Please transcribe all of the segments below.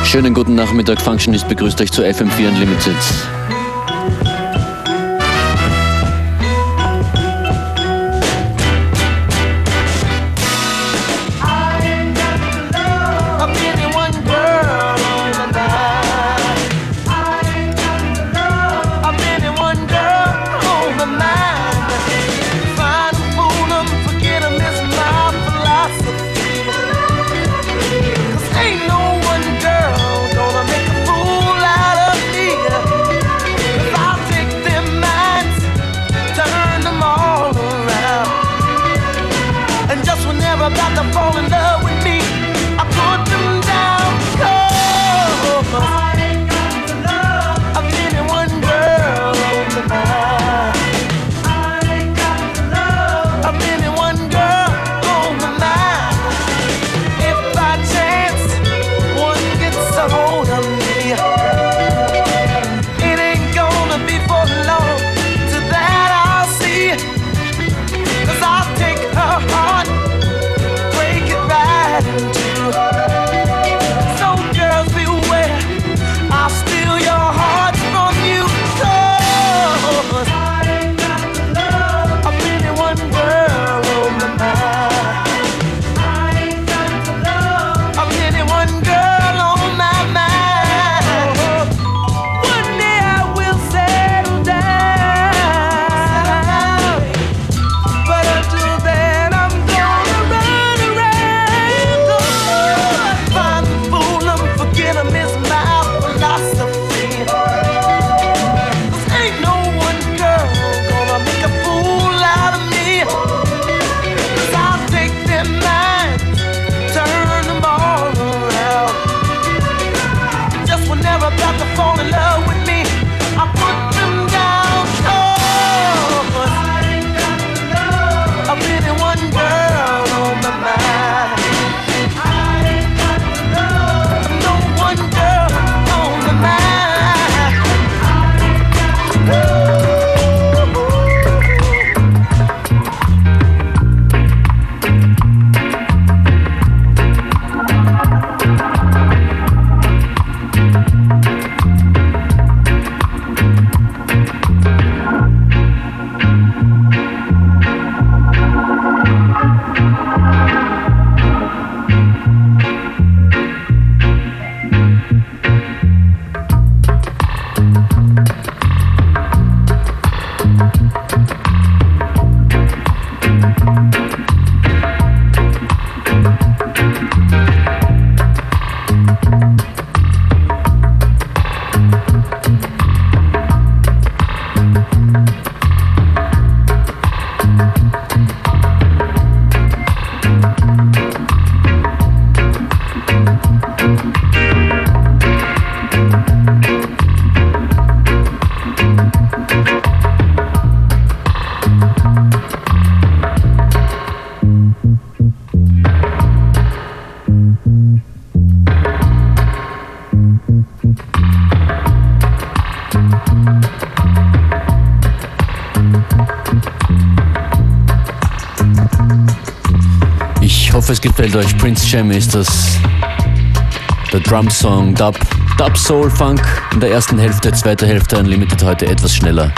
Schönen guten Nachmittag, Functionist begrüßt euch zu FM4 Unlimited. Ich hoffe, es gefällt euch. Prince Jam ist das. Der Drum-Song Dub Soul Funk in der ersten Hälfte, zweite Hälfte Unlimited heute etwas schneller.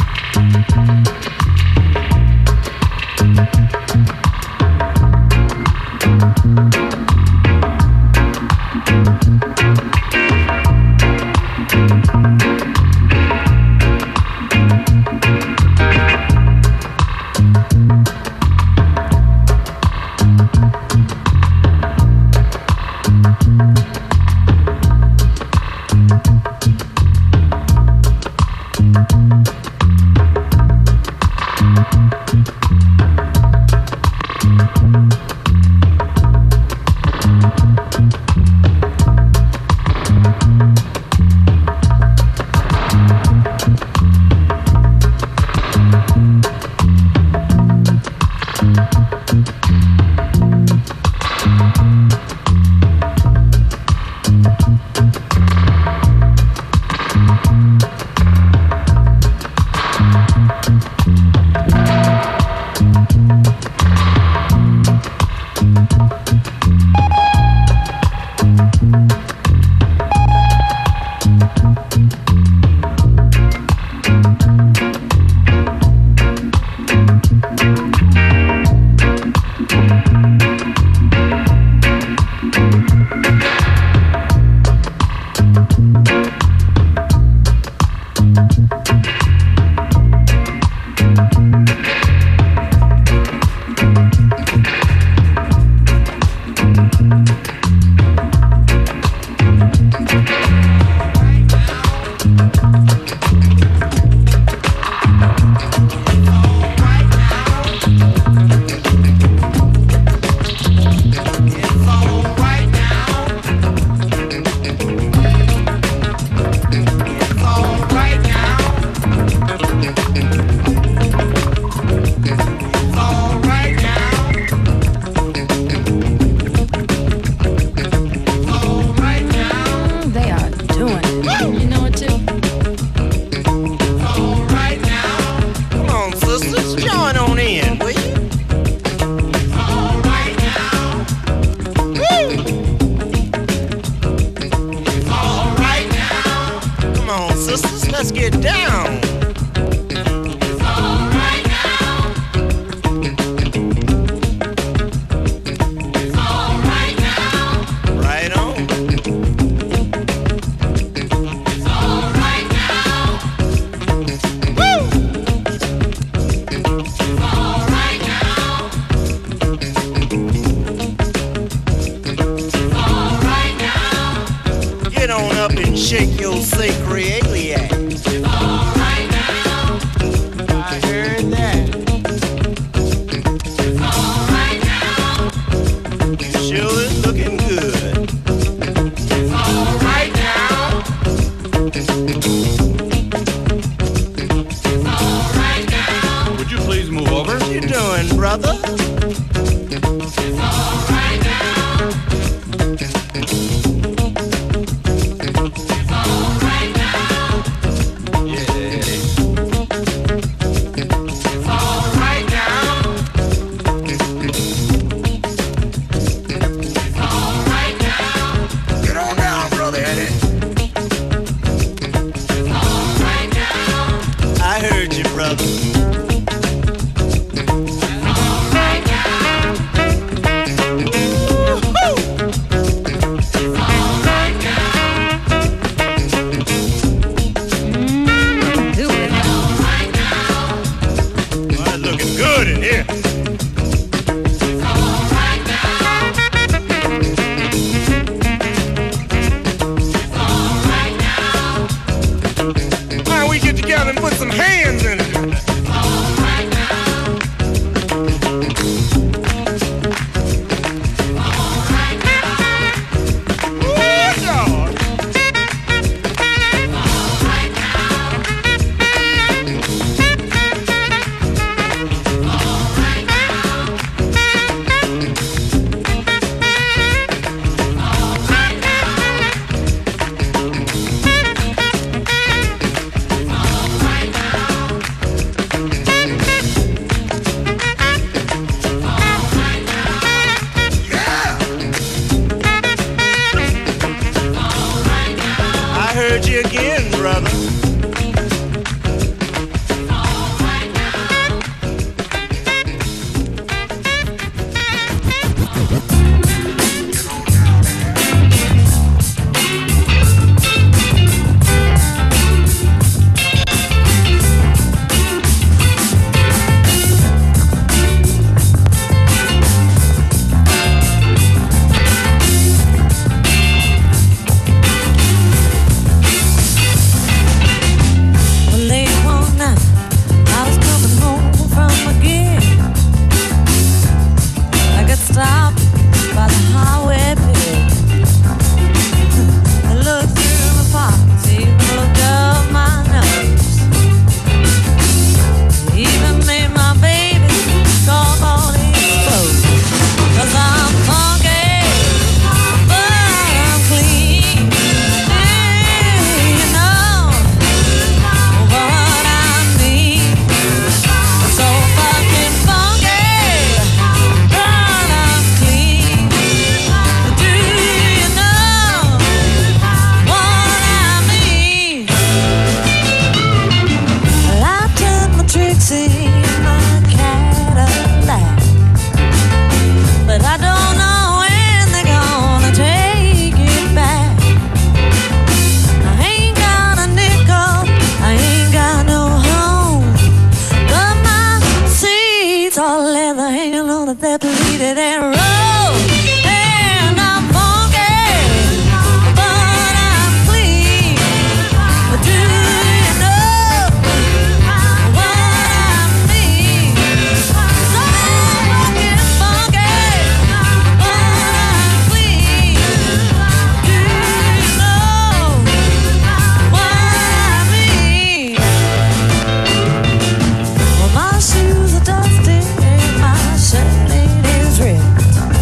shake your sacred iliac. Right now. I heard that. Right now. You sure is looking good. Right now. Right now. Would you please move over? What you doing, brother? Right now. Right now. Yeah. Right now. Right now. Get on down, brother Eddie. Right now. I heard you, brother. Shoes are dusty, my shirt is ripped.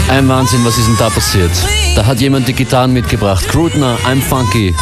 Ein Wahnsinn, was ist denn da passiert? Da hat jemand die Gitarren mitgebracht. Grudner, I'm Funky.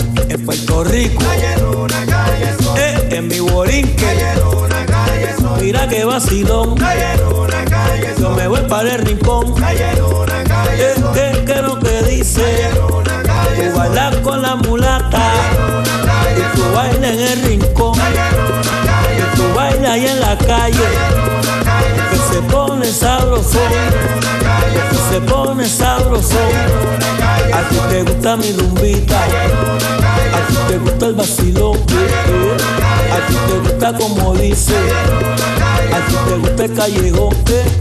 Rico, en mi Borinque, mira que vacilón. Yo me voy para el rincón. ¿Qué lo que dice? Tú bailas con la mulata y tú bailas en el rincón. Y tú bailas ahí en la calle, que se pone sabrosón, que se pone sabrosón. A ti te gusta mi rumbita, a ti te gusta el vacilón, a ti te gusta como dice, a ti te gusta el callejón.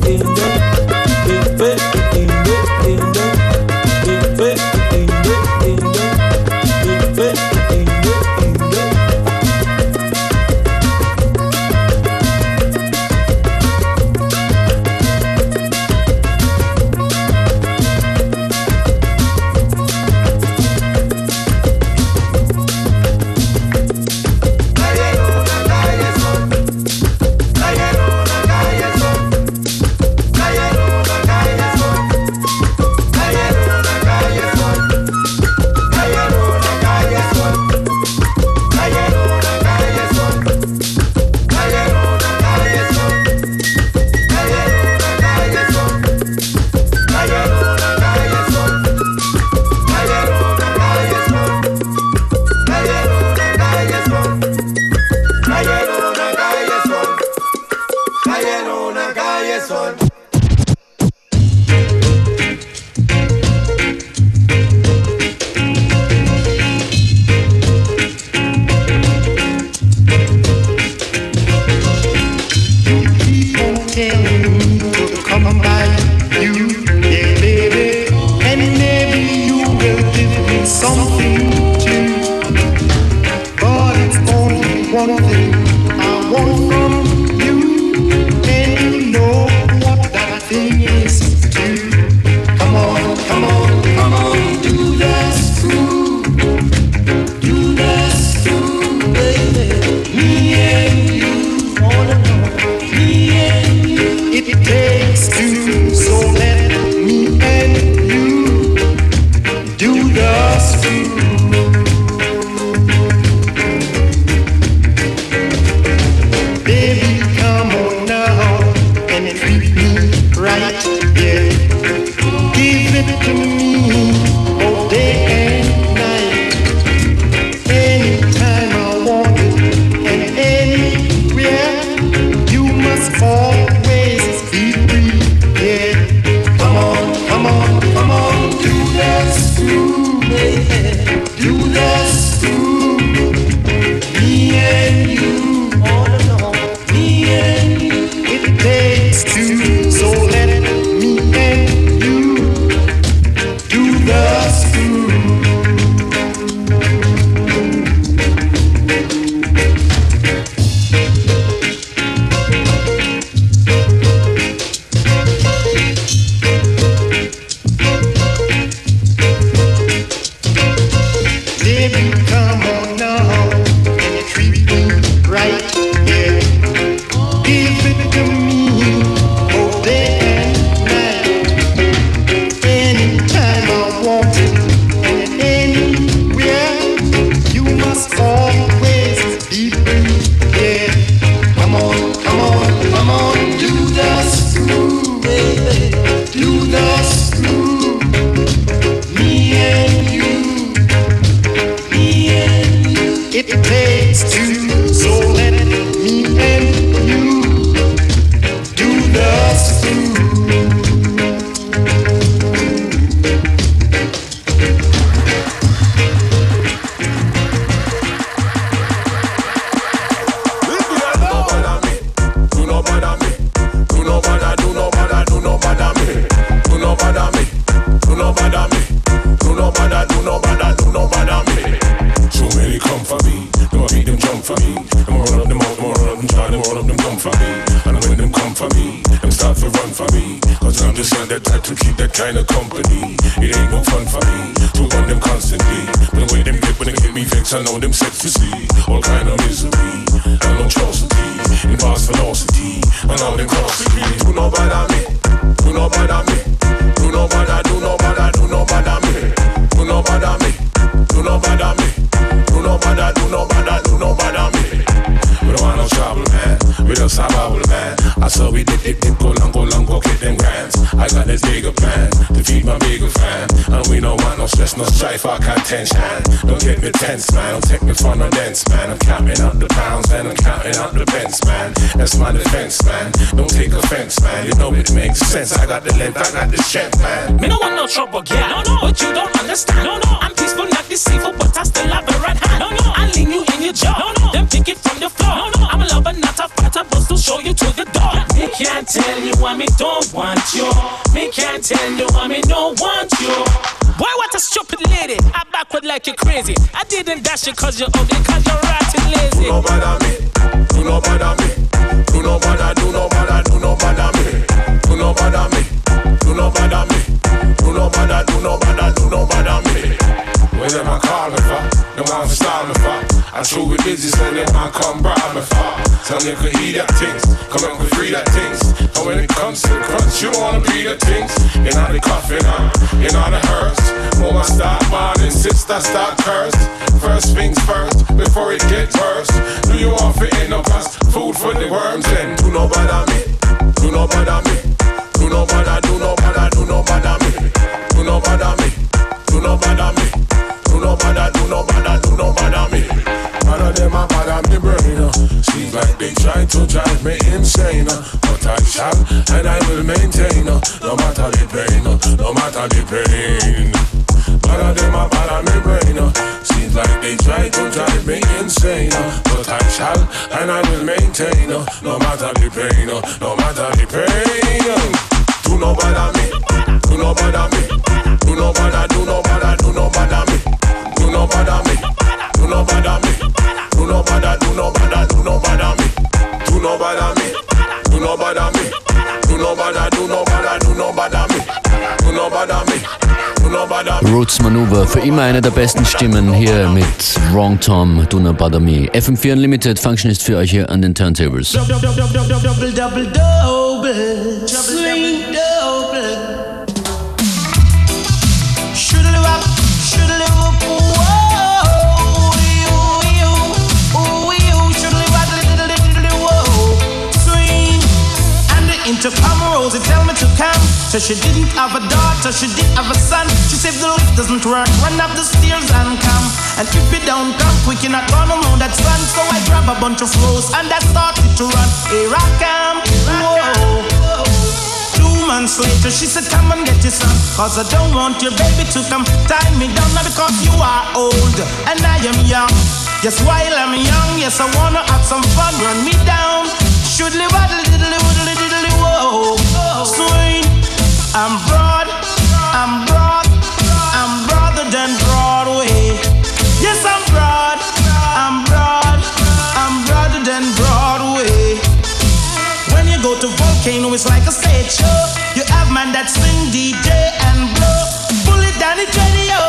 I know them sex to see, all kind of misery, and atrocity, in vast velocity, and all them costly. Do no bother me, do no bother me, do no bother, do no bother, do no bother me, do no bother me, do no bother me, do no bother, do no bother, do no bother me. We don't want no trouble, man. We just have our soul, man. I saw we dip, go long, go get them grands. I got this bigger plan to feed my bigger fan. And we don't want no stress, no strife, or contention. Don't get me tense, man. Don't take me for no dance, man. I'm counting up the pounds and I'm counting up the pence, man. That's my defense, man. Don't take offense, man. You know it makes sense. I got the length, I got the strength, man. Me no want no trouble, yeah. No, but you don't understand. No, I'm peaceful, not deceitful, but I still have the right hand. No, I lean you in your jaw. Then pick it from the floor. I'm a lover, not a fighter, but to show you to the door. Me can't tell you why me don't want you. Me can't tell you why me don't want you. Boy, what a stupid lady. I backward like you're crazy. I didn't dash you cause you're ugly, cause you're rotten lazy. Do no bother me. Do no bother me. Do no bother, do no bother, do no bother me. Do no bother me. Do no bother me. Do no bother, do no bother, do no bother me. When them I call me for, them want to style me for. I true with business and them I come bribe me for. Tell me you could eat that things, come and could free that things. And when it comes to the crunch, you wanna be the things. You know the coffin, you know the hearse. Move I start mourning, sister start cursed. First things first, before it gets worse. Do you want to end up as food for the worms? Then do no bother me, do no bother me. Do no bother, do no bother, do no bother me. Do no bother me, do no bother me. Do no bother, do no bother, do no bother me. None of them a bother me brain. Seems like they try to drive me insane. But I shall and I will maintain. No matter the pain, no matter the pain. None of them a bother me brain. Seems like they try to drive me insane. But I shall and I will maintain. No matter the pain, no matter the pain. Do no bother me, do no bother me. Do no bother, do no bother, do no bother me. Do no bother me, do no bother me. Do no bother, do no bother, do no bother me. Do no bother me, do no bother me. Do no bother, do no bother, do no bother me. Do no bother me, do no bother me. Roots Maneuver, für immer eine der besten Stimmen hier mit Wrong Tom, Do Not Bother Me. FM4 Unlimited, Functionist für euch hier an den Turntables. Double, swing double. Intercom Rosie tell me to come. So she didn't have a daughter, she did have a son. She said the lift doesn't work, run up the stairs and come. And if you don't come quick, you're not gonna know that son. So I grab a bunch of roses and I started to run. Here I come, whoa. 2 months later she said come and get your son, cause I don't want your baby to come tie me down. Now because you are old and I am young. Yes, while I'm young, yes I wanna have some fun. Run me down, should live a diddly whoa. Swing, I'm broad, I'm broad, I'm broader than Broadway. Yes, I'm broad, I'm broad, I'm broader than Broadway. When you go to Volcano, it's like a stage show. You have man that swing, DJ and blow. Pull it down, it's ready, yo.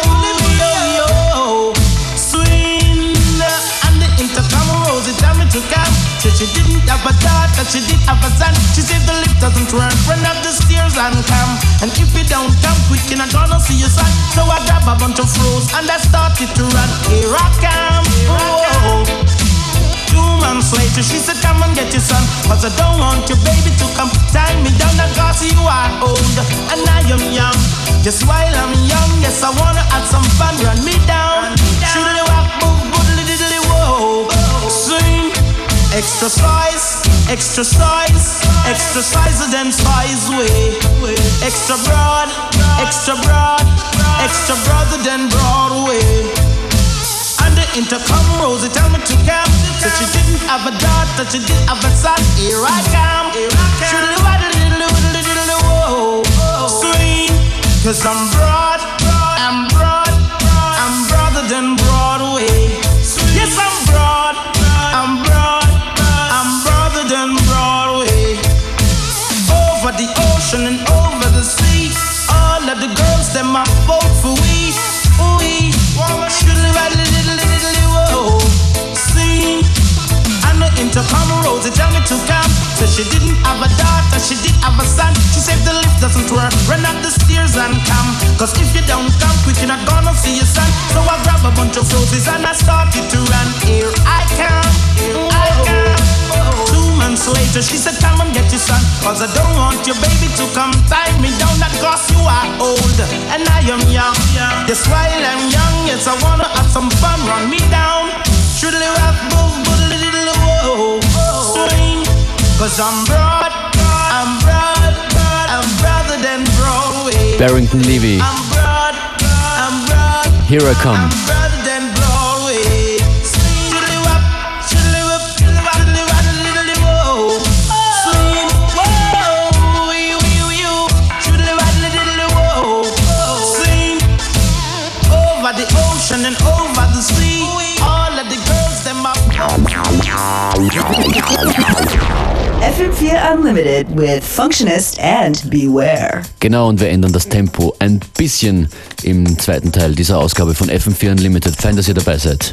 Swing, and the intercom Rosie tell me to come. She didn't have a daughter, she did have a son. She said the lift doesn't work, run up the stairs and come. And if you don't come quick, you're not gonna see your son. So I grab a bunch of roses and I started to run. Here I come, whoa. 2 months later she said come and get your son, cause I don't want your baby to come tie me down. Cause you are old and I am young. Just while I'm young, yes I wanna have some fun. Run me down, shoodly wop, boom, boodly diddly whoa. Swing, extra size, extra size, extra size than size way. Extra broad, extra broad, extra broader than Broadway. And the intercom Rosie tell me to come. So she didn't have a daughter, she did have a son. Here I come, shoodly waddly whoa. Swing, cause I'm broad, I'm broad, I'm broader than Broadway. Yes, I'm broad, I'm broad, I'm broader than Broadway. Over the ocean and over the sea, all of the girls them are vote for we. We should ride little whoa. Sing, and the intercom Rosie tell me to come. So she didn't have a daughter, she did have a son. She said the lift doesn't work, run up the stairs and come. Cause if you don't come quick, you're not gonna see your son. So I grab a bunch of roses and I started to run. Here I come, here I come. 2 months months later, she said, come and get your son, cause I don't want your baby to come tie me down. That cause you are old and I am young. Yes, while I'm young, yes, I wanna have some fun. Run me down, should live up, little swing. Cause I'm broad, I'm broader than Broadway. Barrington Levy. I'm broad, Here I Come. I'm broader than Broadway. The ocean and over the sea, all of the girls them up. FM4 Unlimited with Functionist and Beware. Genau, und wir ändern das Tempo ein bisschen im zweiten Teil dieser Ausgabe von FM4 Unlimited. Fein, dass ihr dabei seid.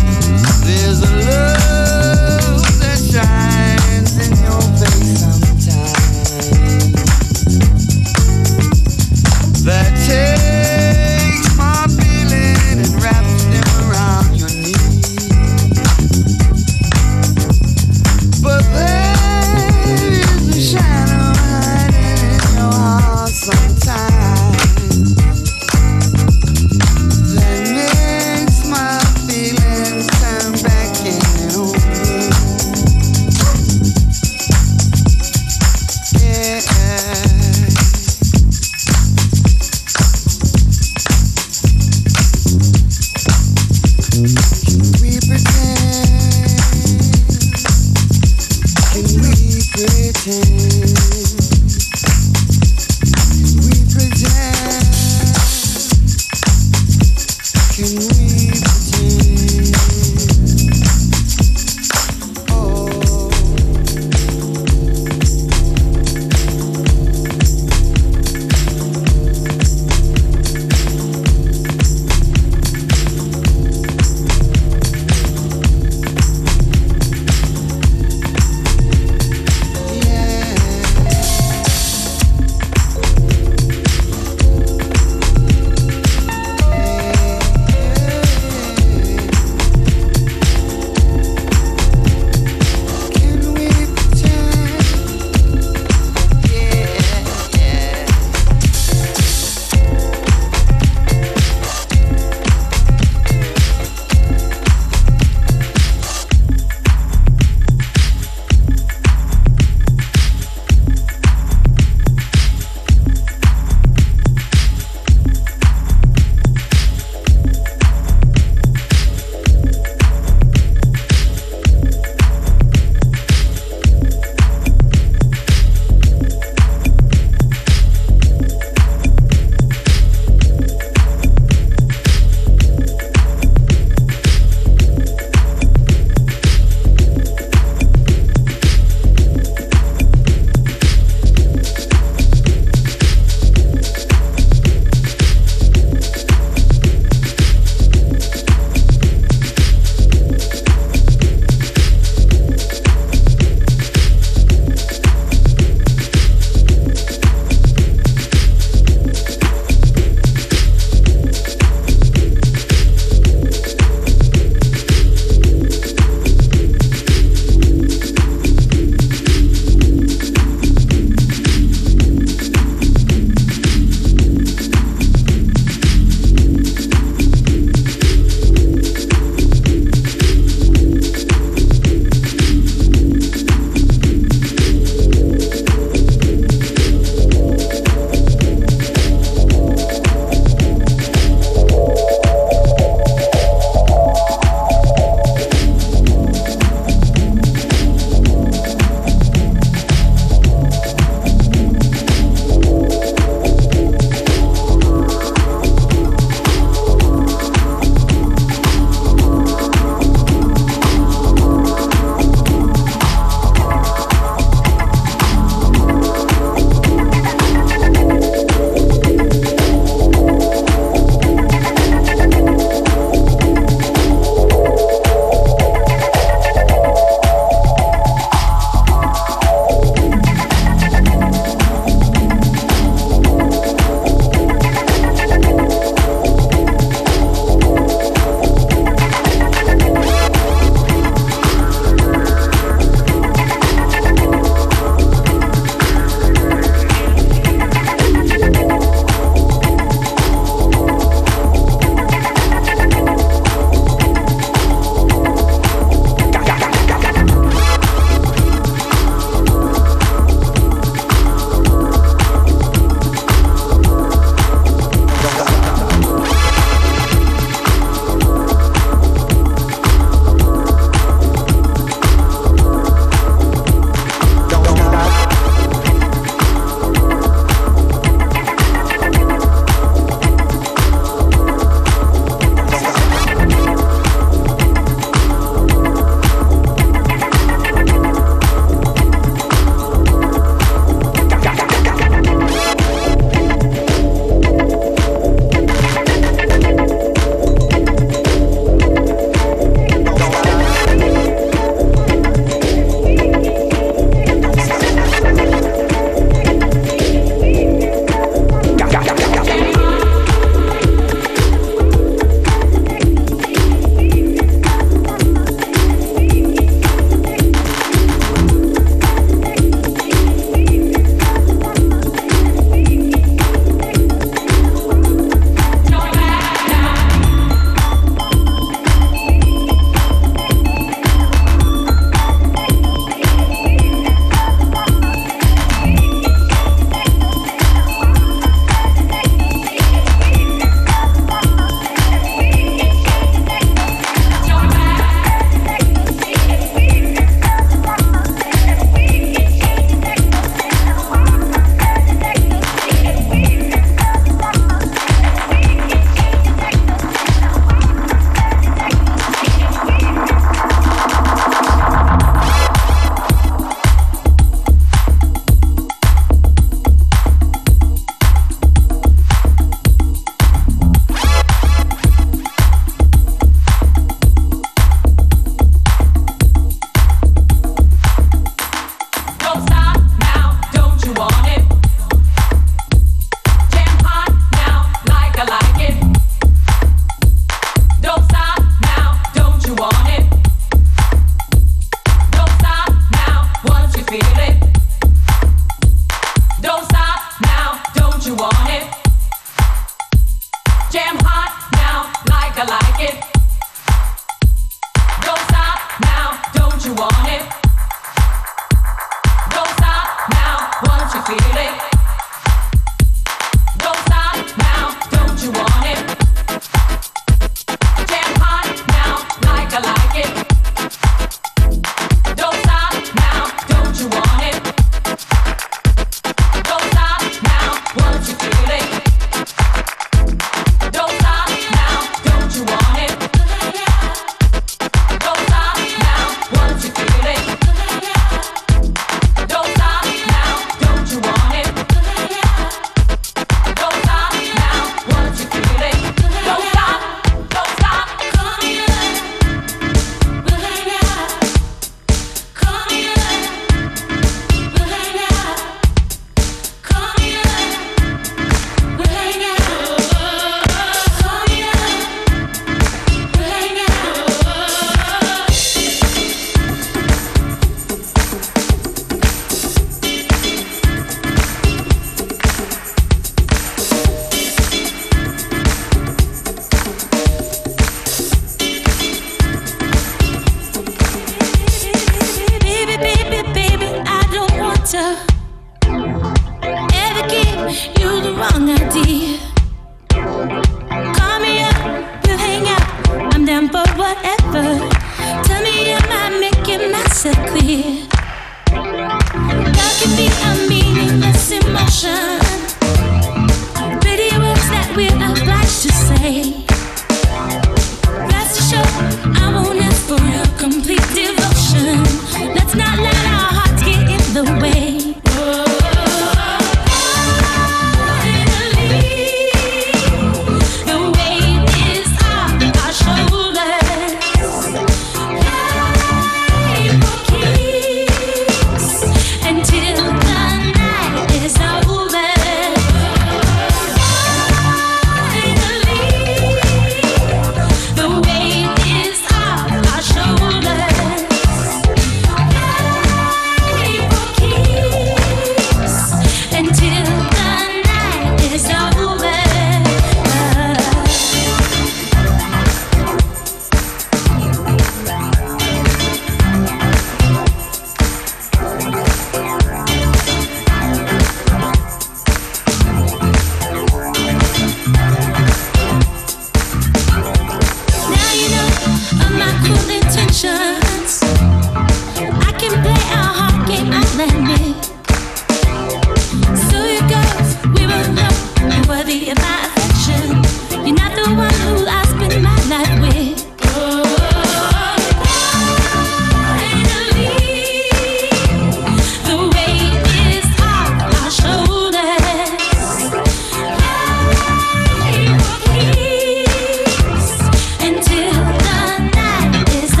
Until the night is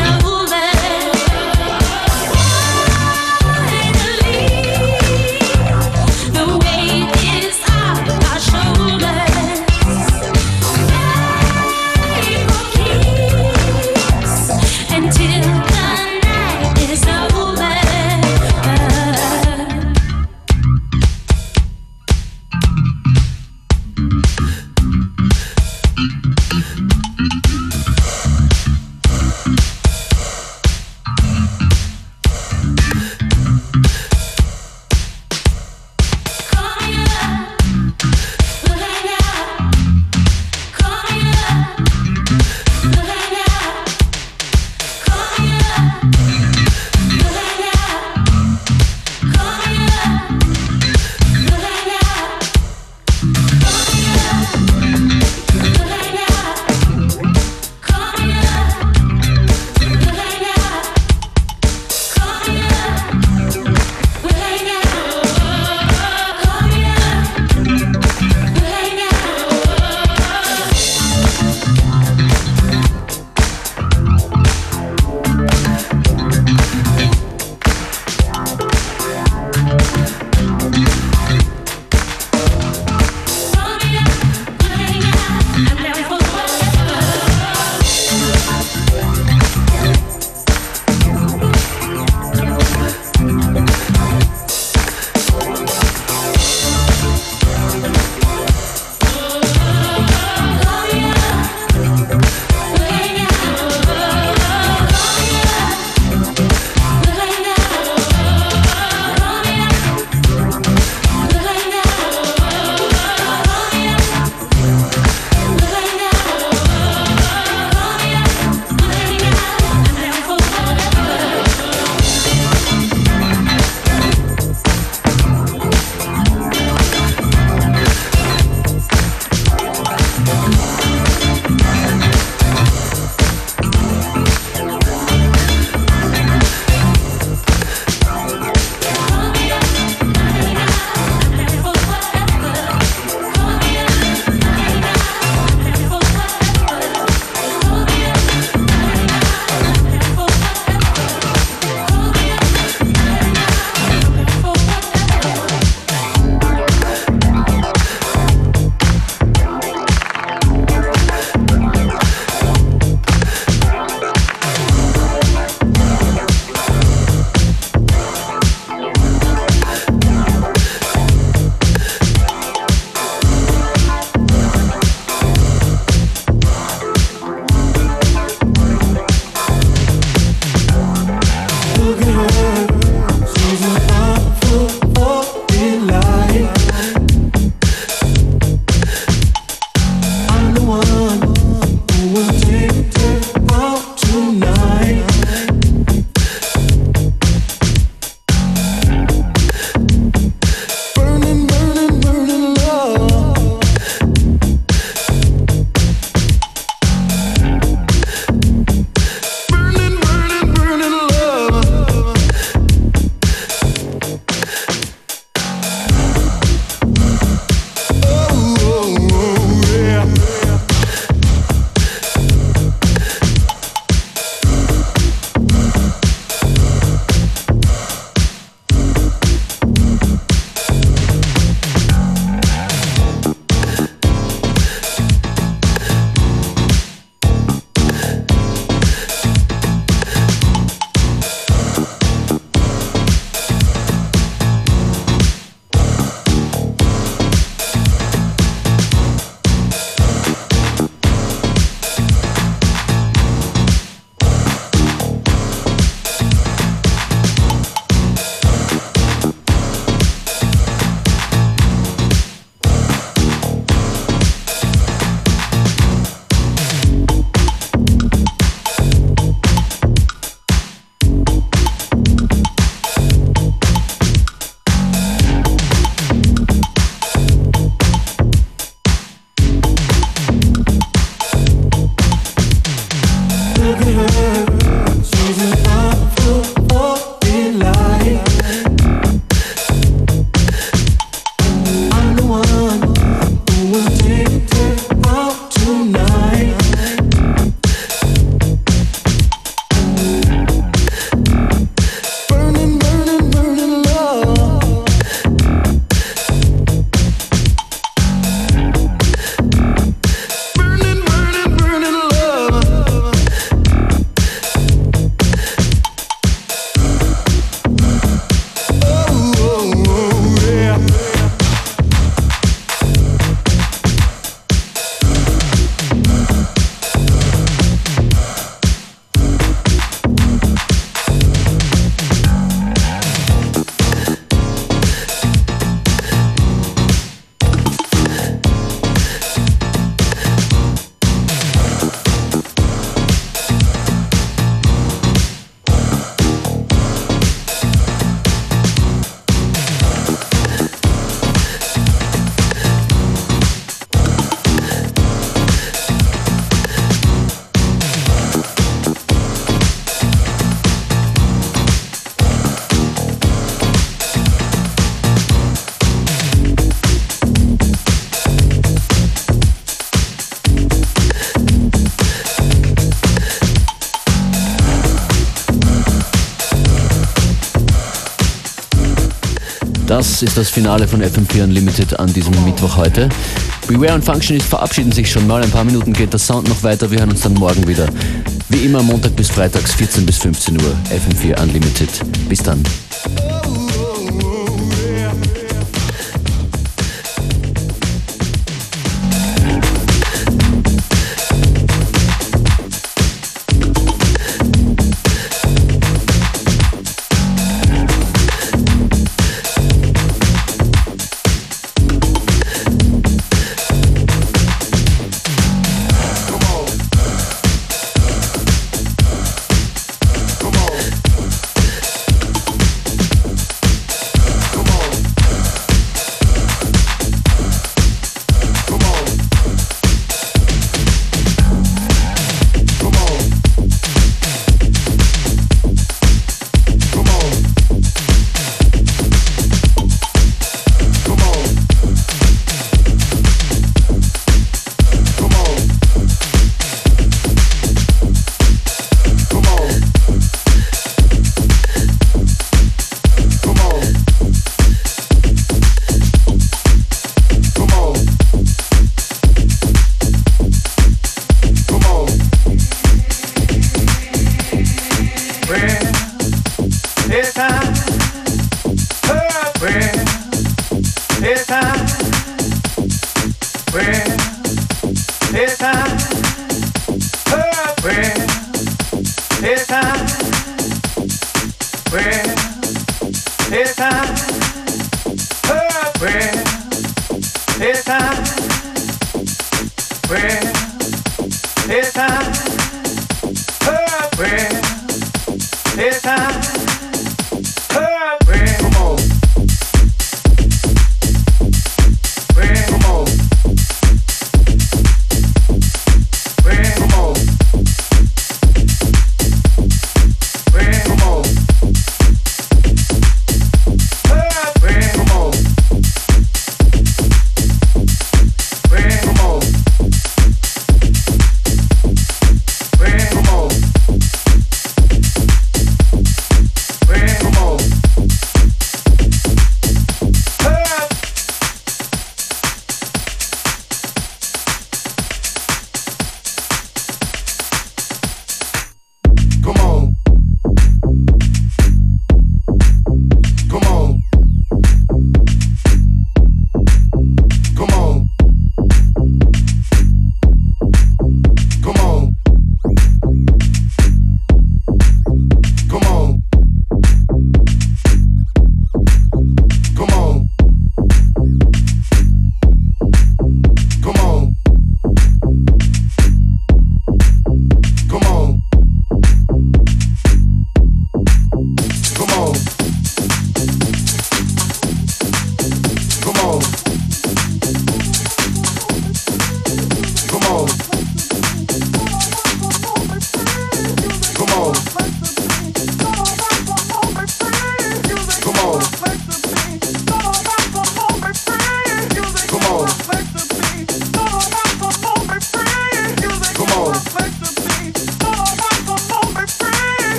Das ist das Finale von FM4 Unlimited an diesem Mittwoch heute. Beware und Functionist verabschieden sich schon mal. Ein paar Minuten geht der Sound noch weiter. Wir hören uns dann morgen wieder. Wie immer Montag bis Freitags 14 bis 15 Uhr. FM4 Unlimited. Bis dann.